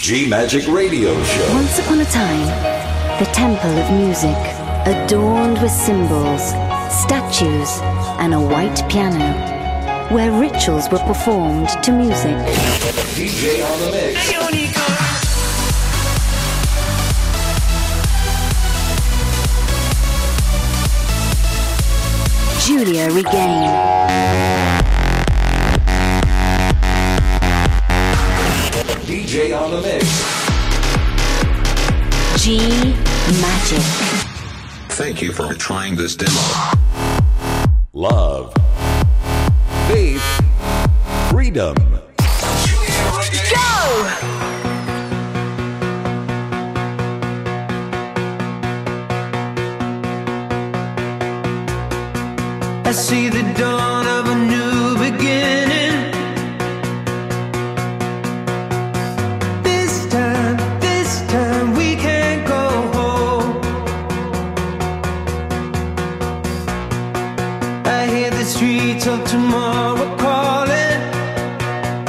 G Magic Radio Show. Once upon a time, the temple of music, adorned with symbols, statues, and a white piano, where rituals were performed to music. DJ on the mix. Giulia Regain. DJ on the mix. G Magic. Thank you for trying this demo. Love. Faith. Freedom. Go! I see the dawn of a new beginning. This time we can't go home. I hear the streets of tomorrow calling.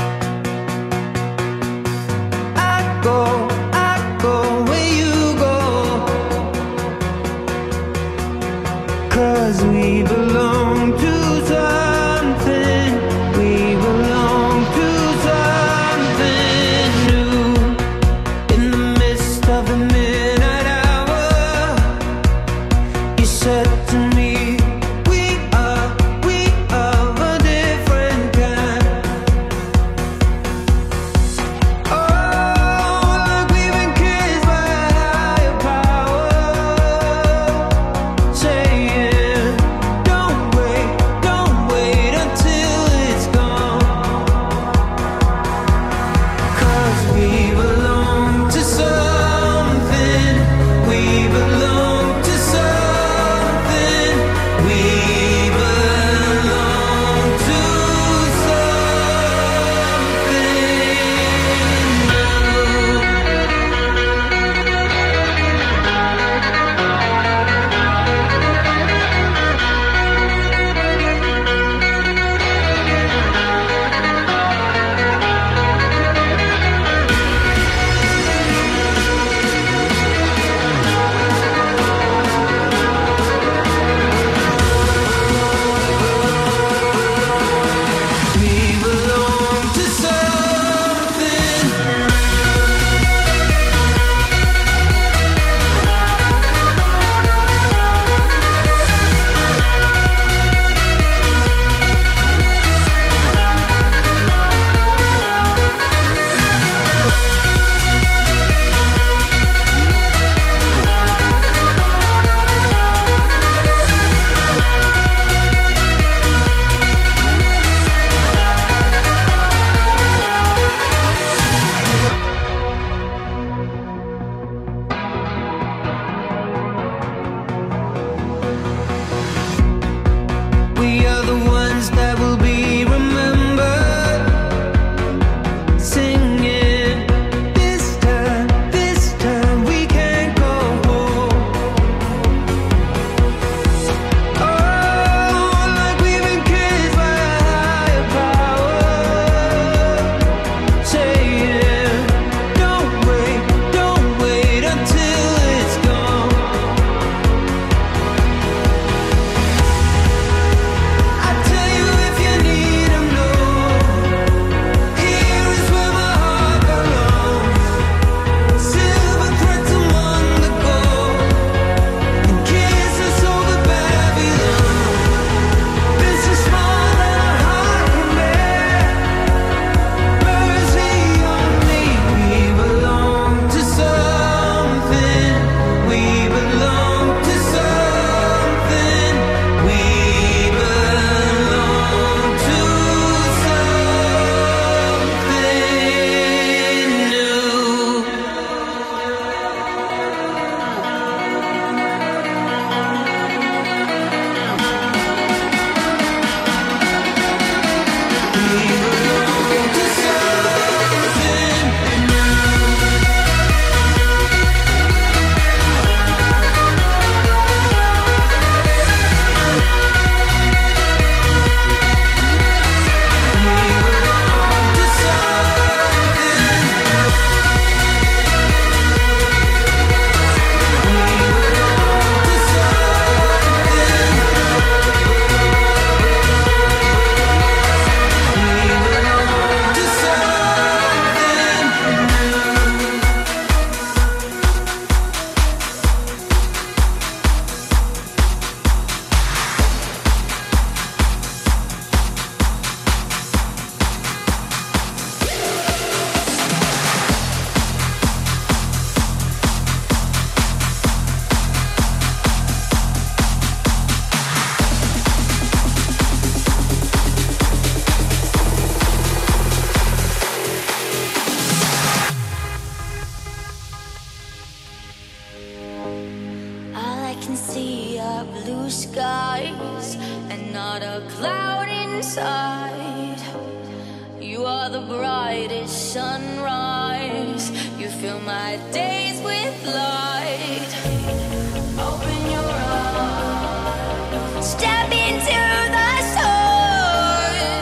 are the brightest sunrise. You fill my days with light. Open your eyes. Step into the sun.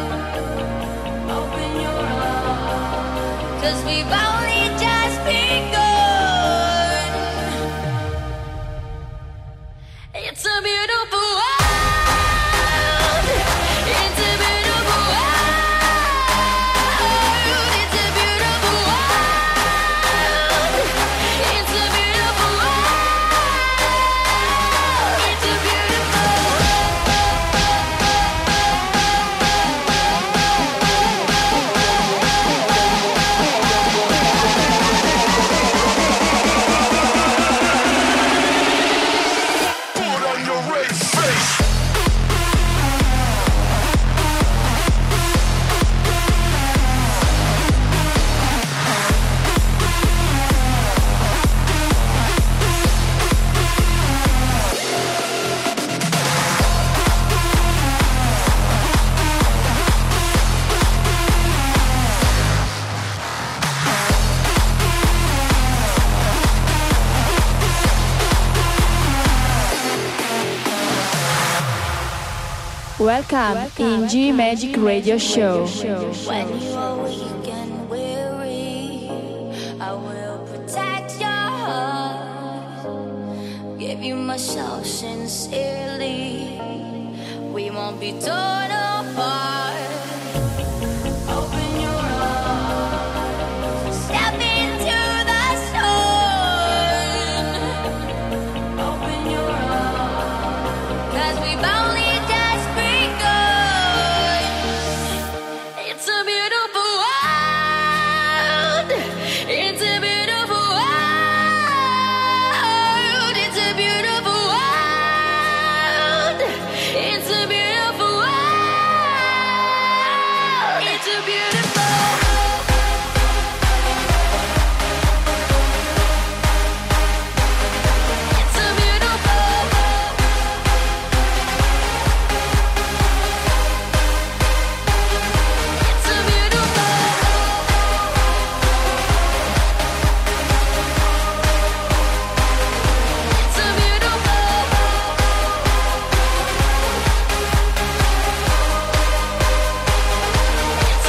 Open your eyes. 'Cause we've only just begun. It's a beautiful world. It's a beautiful world. It's a beautiful world. It's a beautiful world. It's a beautiful Put on your red face. Welcome in G Magic Radio Show. When you are weak and weary, I will protect your heart. Give you myself sincerely. We won't be torn apart. Open your eyes. Step into the sun. Open your eyes. 'Cause we've only just begun. It's a beautiful world. It's a beautiful world. It's a beautiful world. It's a beautiful world. It's a beautiful. It's a beautiful. It's a beautiful. It's a beautiful. It's a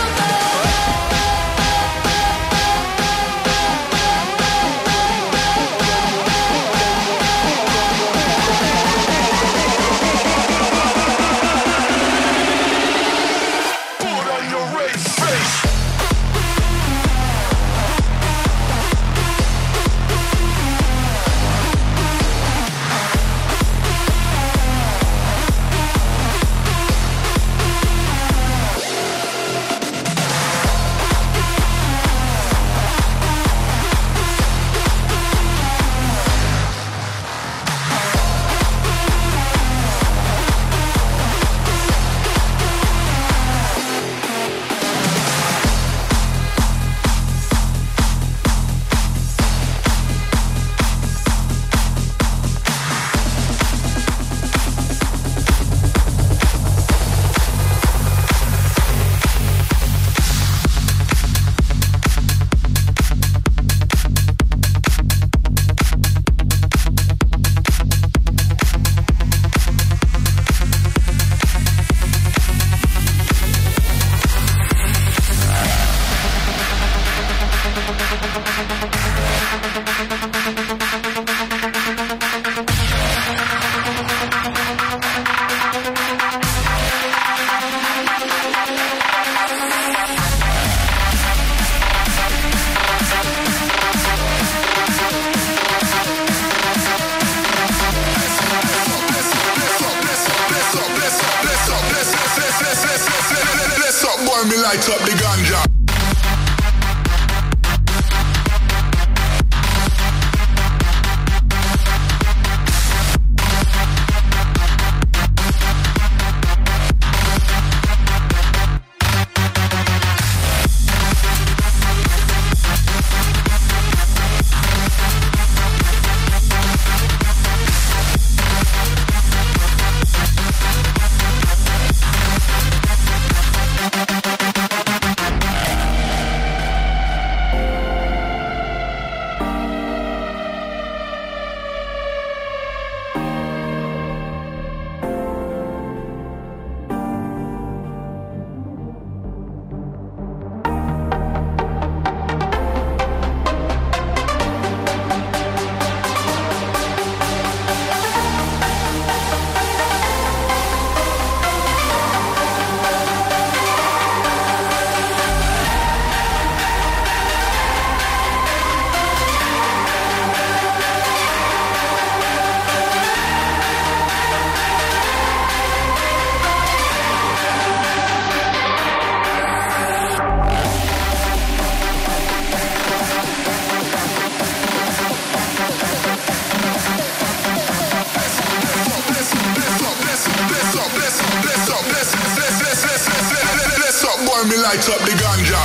Put on your red face. Let's up, boy, me light up the ganja. boy, me light up the ganja.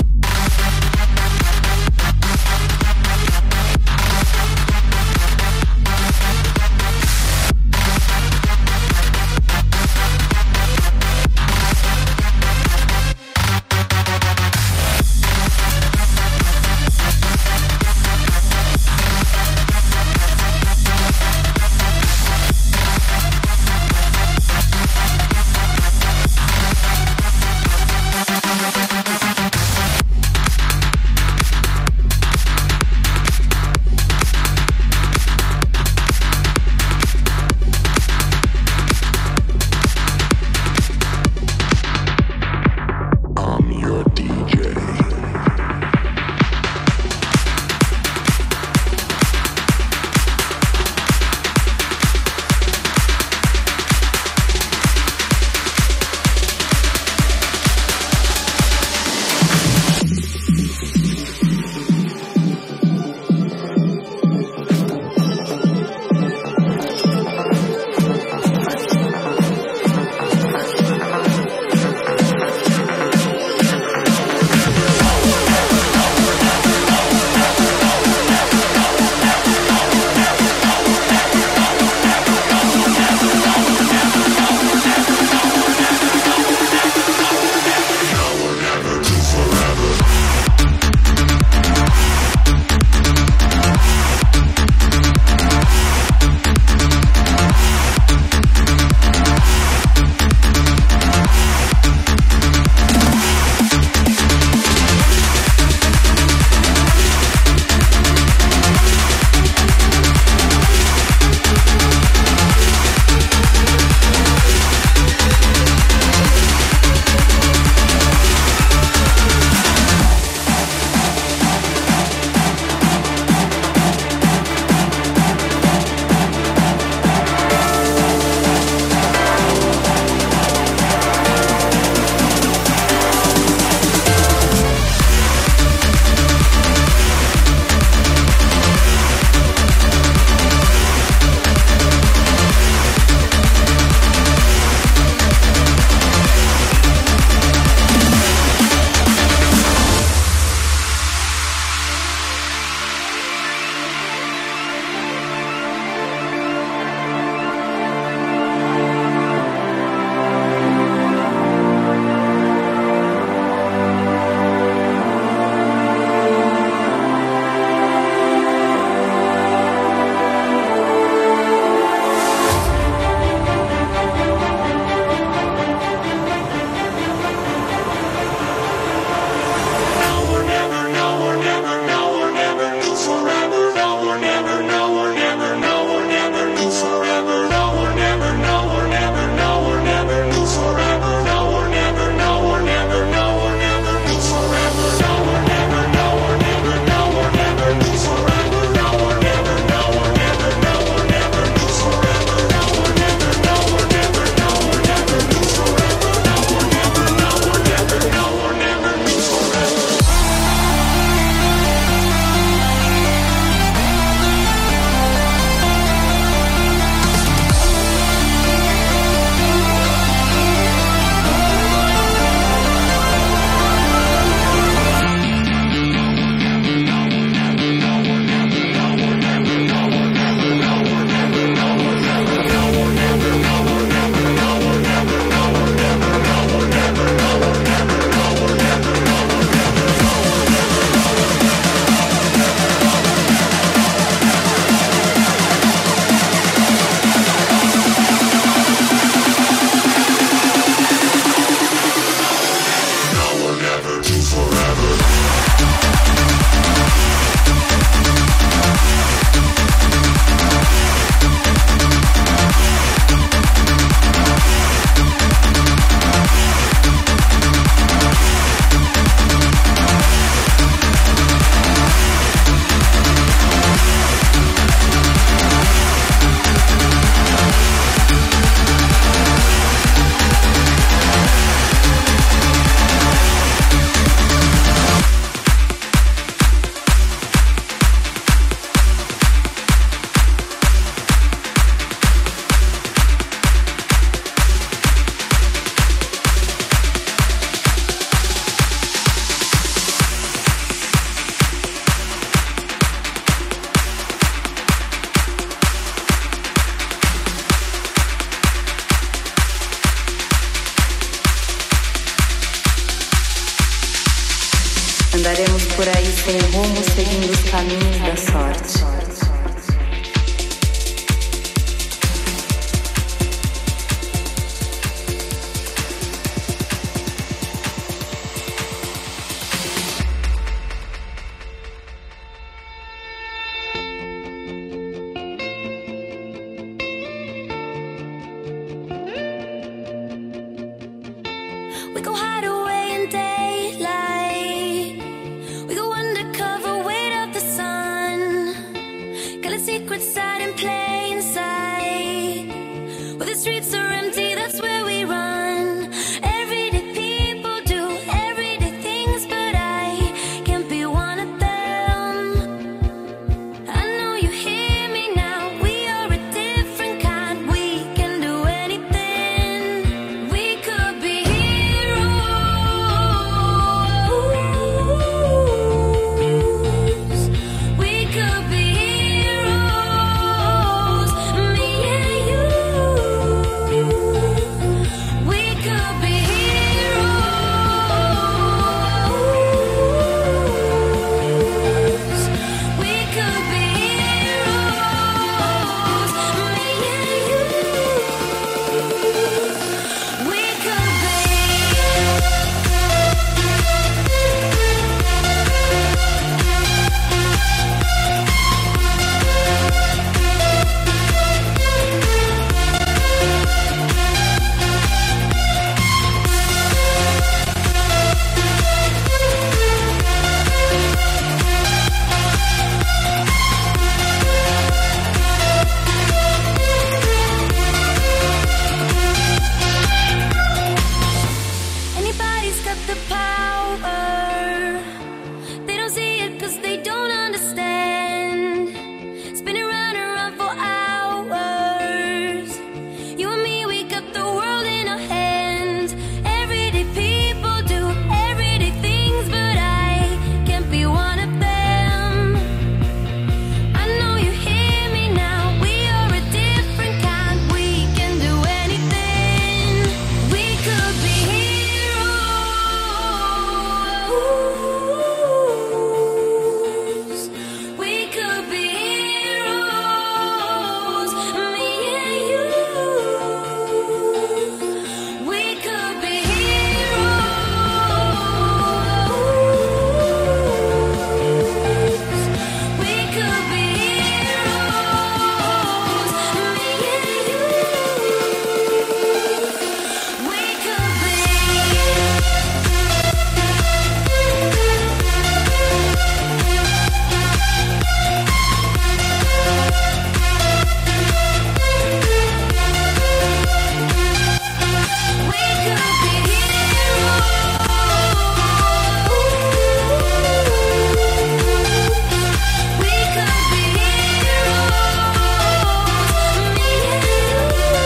Andaremos por aí sem rumo, seguindo os caminhos da sorte. We go hide away in daylight. We go undercover, wait out the sun. Got a secret side in plain sight. Where the streets are empty, that's where we run. Everyday people do everyday things, but I can't be one of them. I know you hear me now. We are a different kind. We can do anything. We could be we could be heroes, me and you. We could be heroes. We could be heroes, me and you. We could be. Anybody's got the power. They don't see it 'cause they don't understand. Spinning round and round for hours. You and me, we got the world in our hands. Everyday people do everyday things, but I can't be one of them. I know you hear me now. We are a different kind. We can do anything. We could be heroes. We could be heroes, me and you. We could be heroes. We could be heroes, me and you. We could be. We could be heroes. We could be heroes, me and you.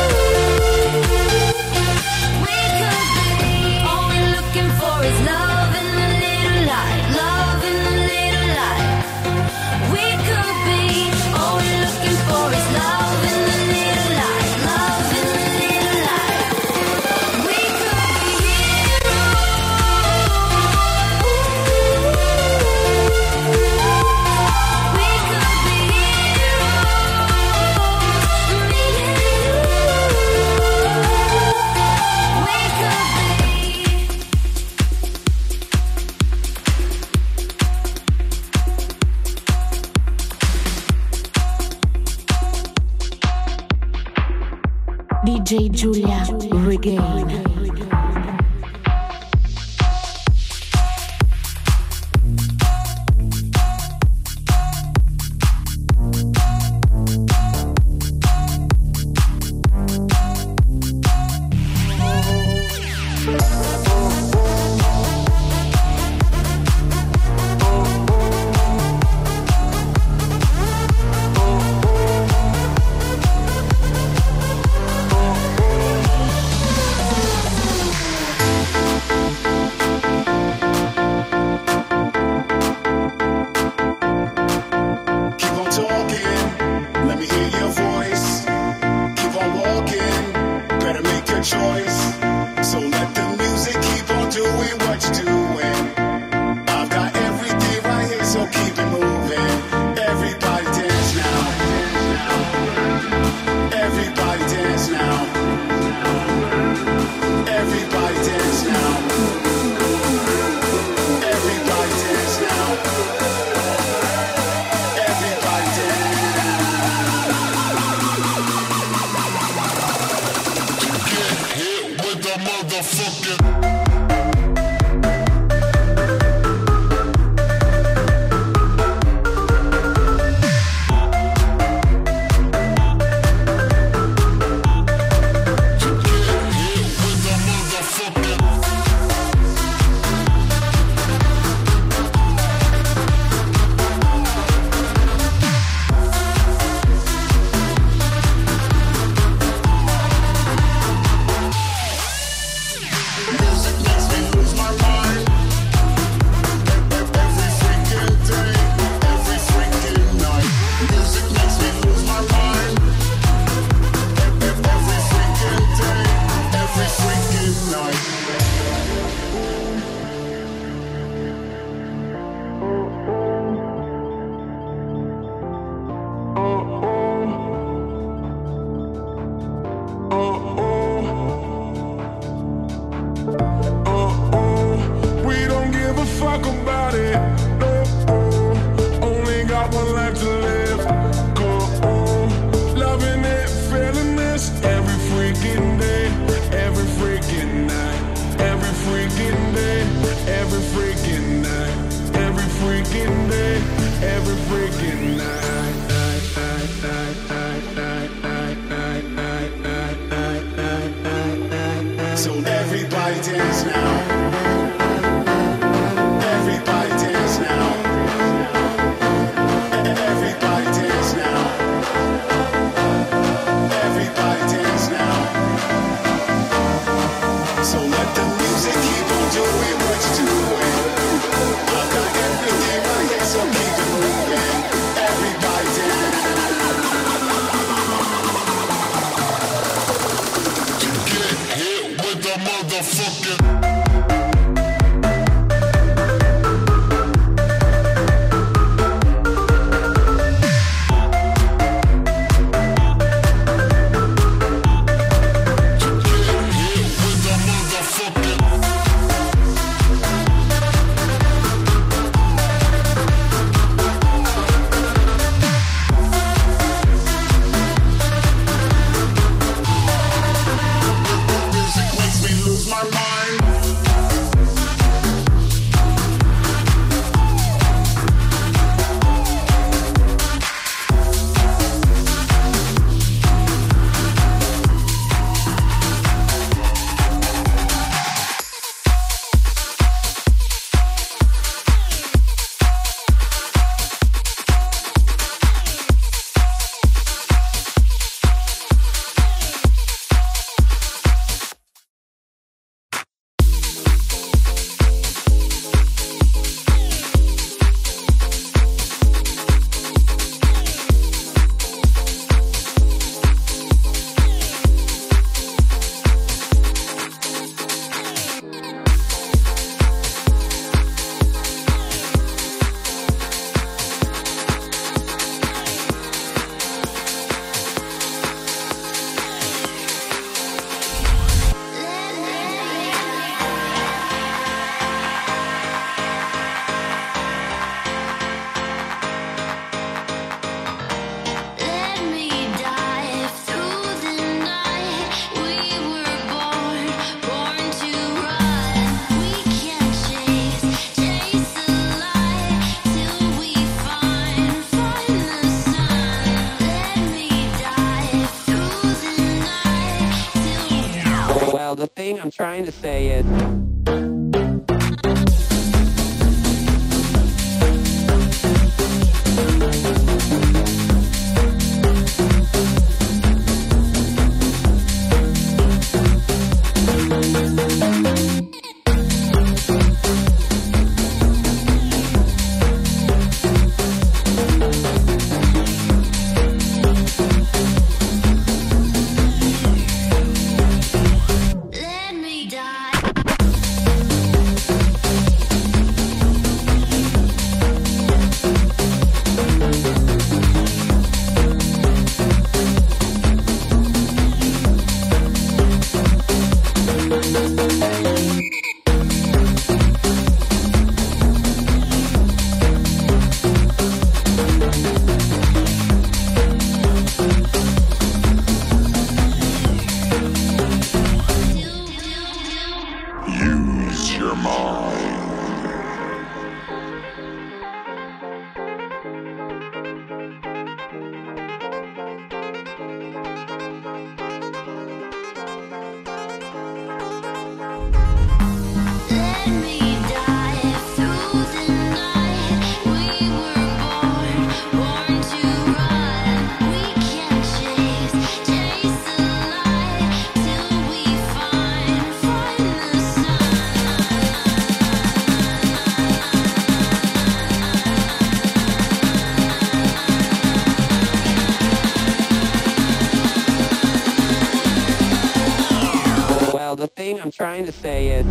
We could be. All we're looking for is love in a little light, love in a little light. We could be. All we're looking for is love in a little light, love in a little light. We could be heroes. We could be heroes, me and you. We could be. DJ Giulia Regain. nobody. No, only got one life to live. Go, loving it, feeling this every freaking day, every freaking night, every freaking day, every freaking night, every freaking day, every freaking night. So everybody dance now. Everybody dance now. Everybody dance now. Everybody dance now. So let the music keep on doing what it's doing. I got everything right here, so keep it moving. Everybody dance. To get hit with the motherfucking. Well, the thing I'm trying to say is... The thing I'm trying to say is...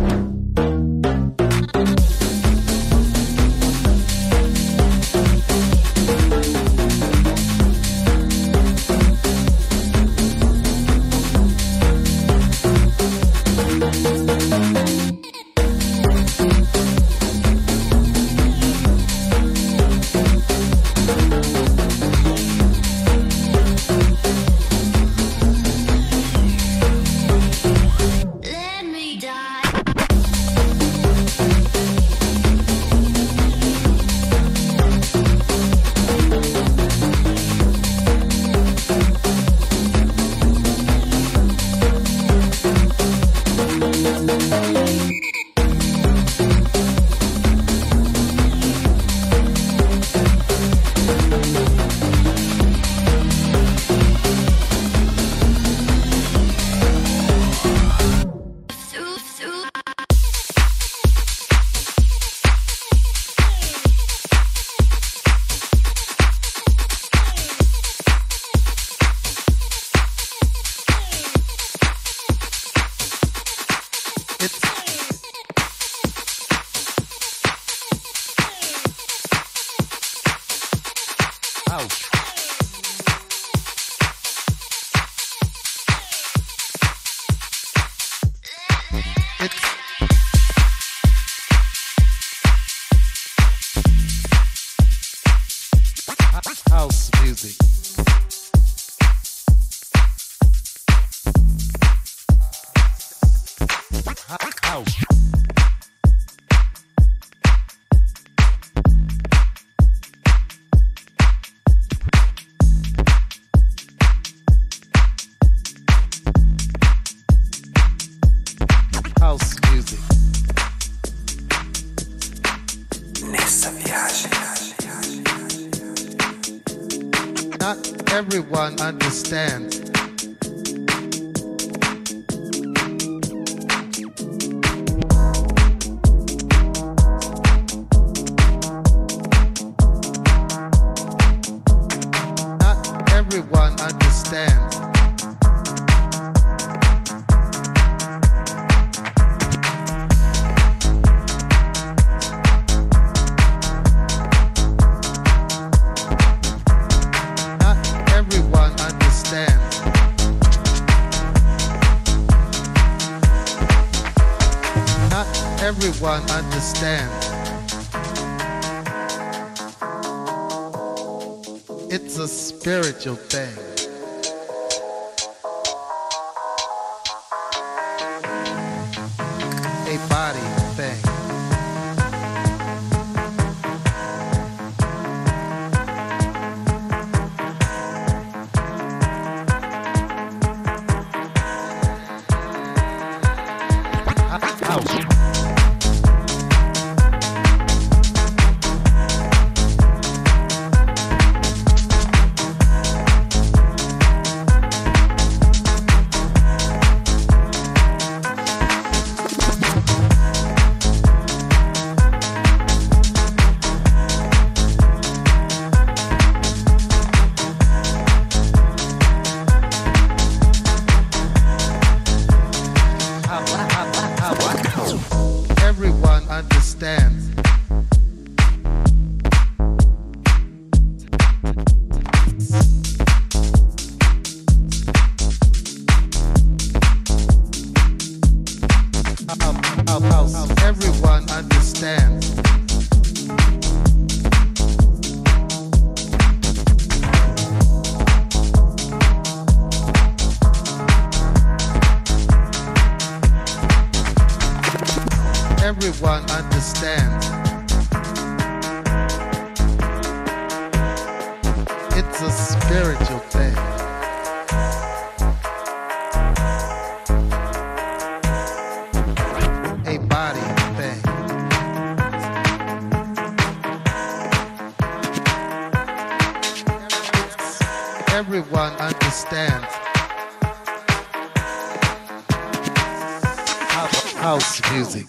House music. House. House music. Nessa viagem. Not everyone understands. Not everyone understands. Everyone understands. It's a spiritual thing. A body thing. House. Everyone understands. Everyone understands. Everyone understands. It's a spiritual thing. A body thing. Everyone understands. House music.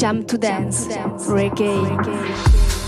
Jump to Dance, Reggae.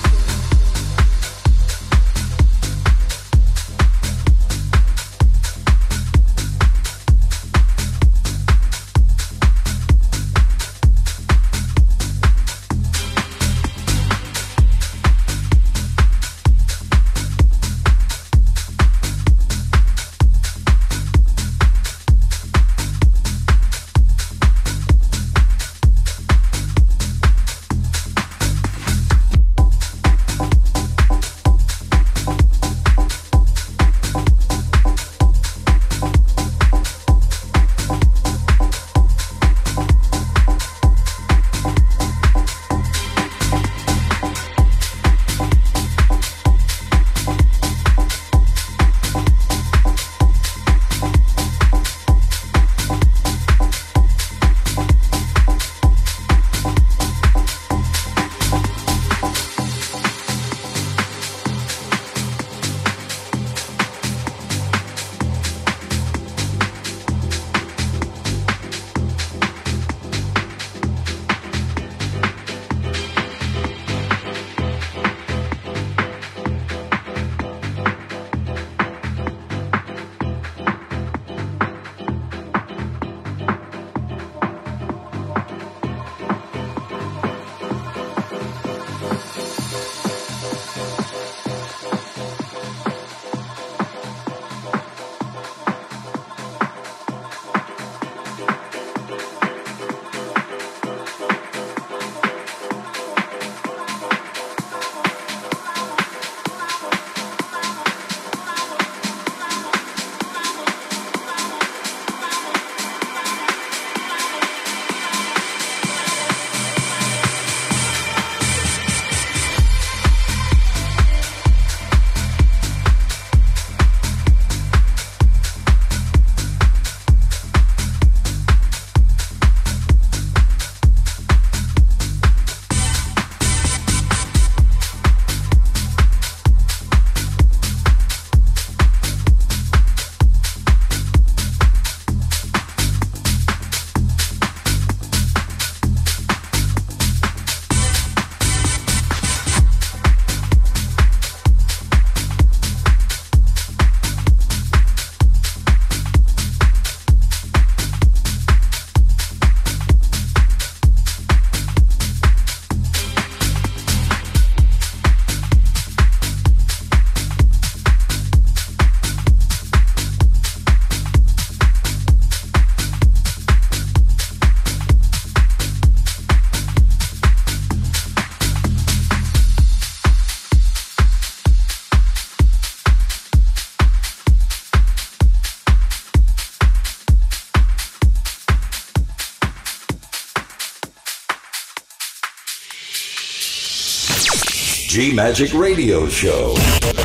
G-Magic Radio Show.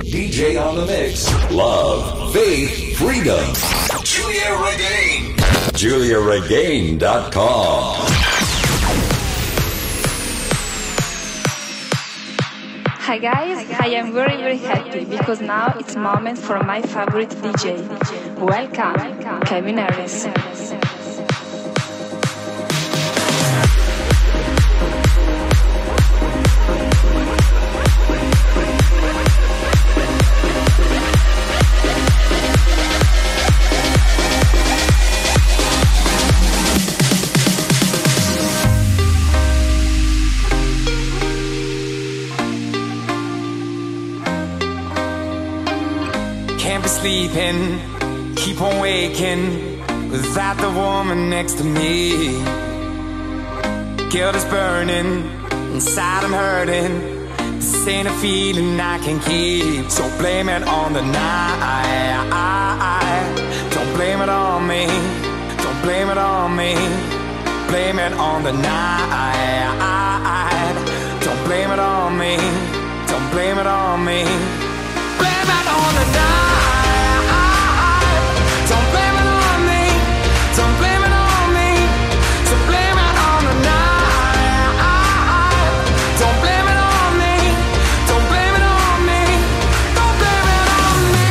DJ on the mix. Love, faith, freedom. Julia Regain. JuliaRegain.com. Hi guys, I am very happy because now it's moment for my favorite DJ. Welcome, Kevin Harris. Sleeping, keep on waking without the woman next to me. Guilt is burning, inside I'm hurting. This ain't a feeling I can keep. So blame it on the night. Don't blame it on me. Don't blame it on me. Blame it on the night. Don't blame it on me. Don't blame it on me. Blame it on the night. Don't blame it on me. Don't blame it on me. So blame it on the night. Don't blame it on me. Don't blame it on me. Don't blame it on me.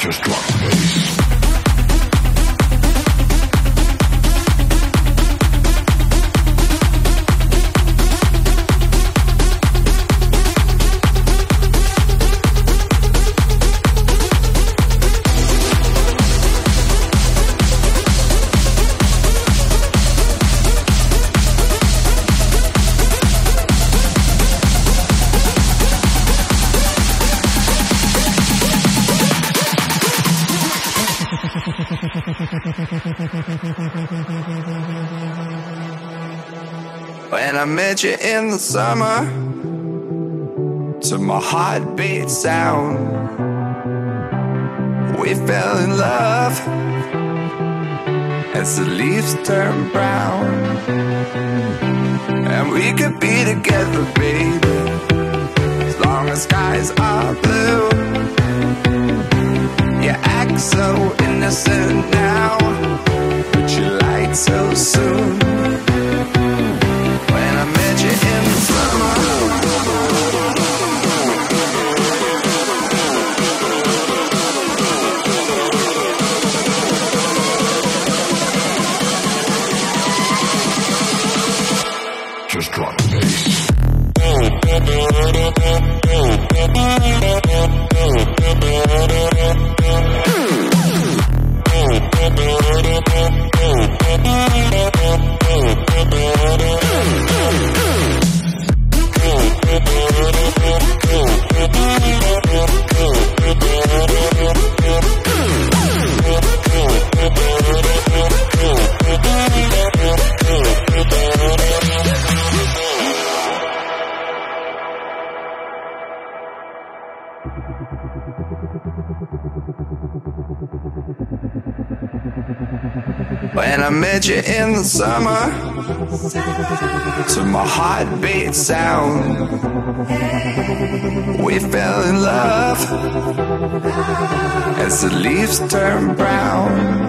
Just drop the bass. When I met you in the summer, to my heartbeat sound, we fell in love as the leaves turn brown. And we could be together, baby, as long as skies are blue. You act so innocent now, but you lied so soon. When I met you in the summer, just drop the bass. when I met you in the summer, to my heartbeat sound, we fell in love as the leaves turn brown.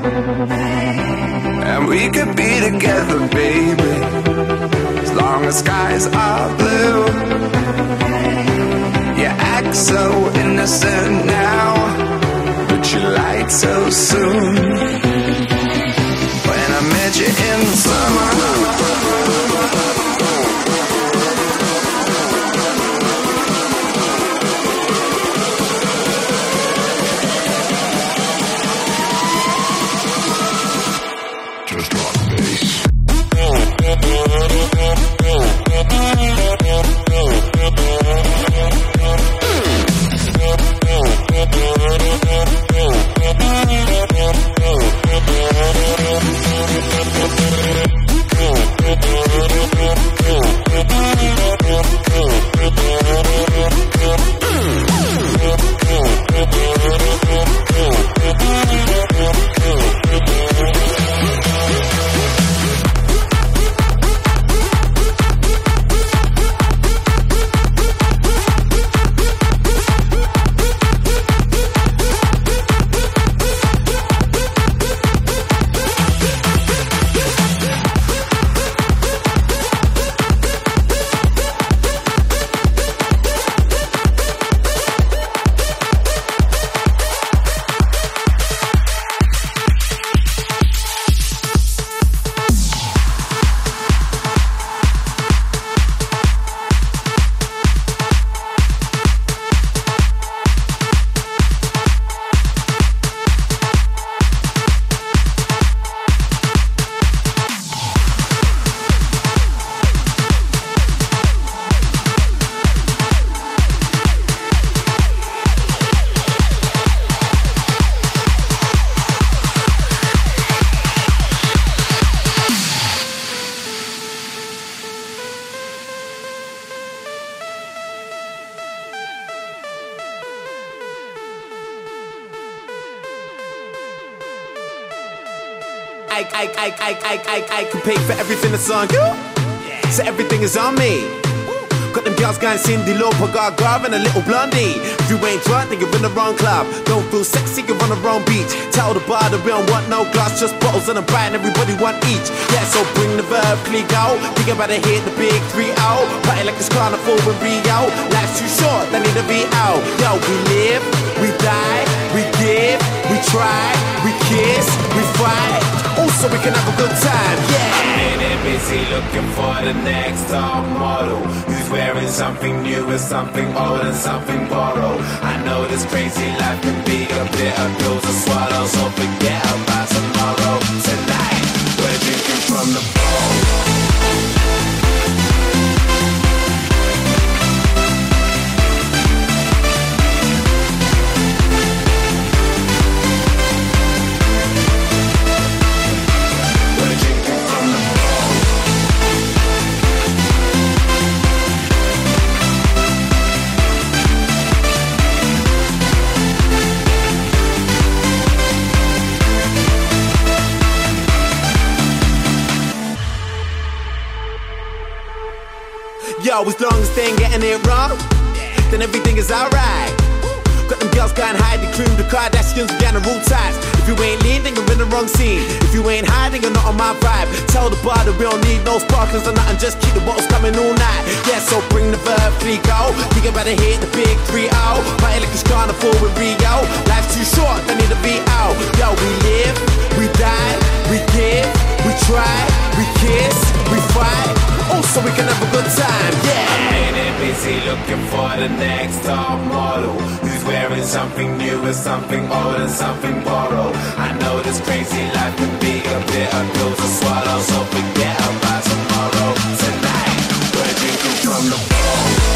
And we could be together, baby, as long as skies are blue. You act so innocent now, but you lied so soon. When I met you in the summer, just drop the bass. I can pay for everything that's on you, so everything is on me. Got them girls going Cindy Lauper, Gaga and a little blondie. If you ain't drunk, then you're in the wrong club. Don't feel sexy, you're on the wrong beach. Tell the bar that we don't want no glass, just bottles and a bite and everybody want each. Yeah, so bring the verb, click out. Think about to hit the big 3-0. Party like it's carnival in Rio. Life's too short, they need to be out. Yo, we live, we die, we give. can have a good time, yeah. I'm in busy looking for the next top model who's wearing something new and something old and something borrowed. I know this crazy life can be a bitter pill to swallow, so forget about tomorrow. Tonight, we're drinking from the bowl. Yo, as long as they ain't getting it wrong, then everything is alright. Got them girls going high, the cream, the Kardashians, we got the rule ties. If you ain't lean, then you're in the wrong scene. If you ain't high, then you're not on my vibe. Tell the bar that we don't need no sparklers or nothing, just keep the bottles coming all night. Yeah, so bring the verb, 3 go. Think about it, hit the big 3-0. Party like it's carnival with Rio. Life's too short, they need a VO. Yo, we live, we die, we give, we try, we kiss, we fight. Also, we can have a good time, yeah. I'm in busy looking for the next top model who's wearing something new and something old and something borrowed. I know this crazy life can be a bitter pill to swallow, so forget about tomorrow. Tonight, we're drinking from the bowl.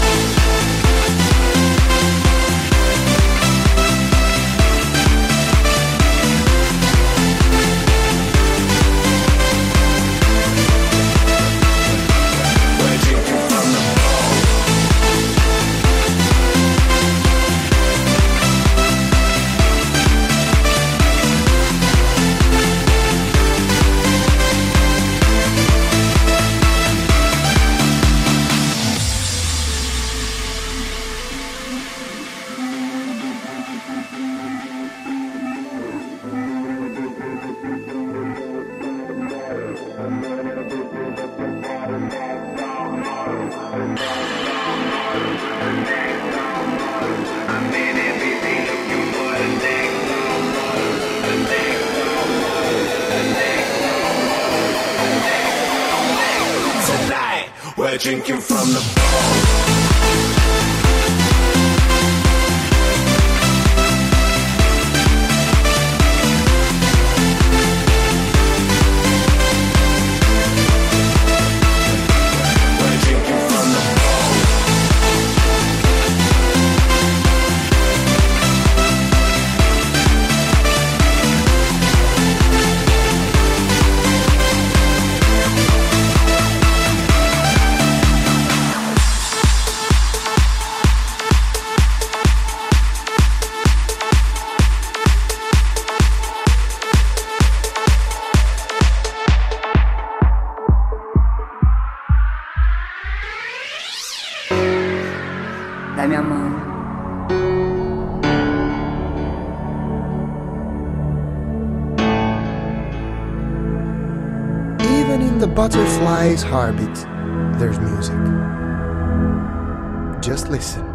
We're drinking from the bowl. Dai-mi a mano. Even in the butterfly's heartbeat, there's music. Just listen.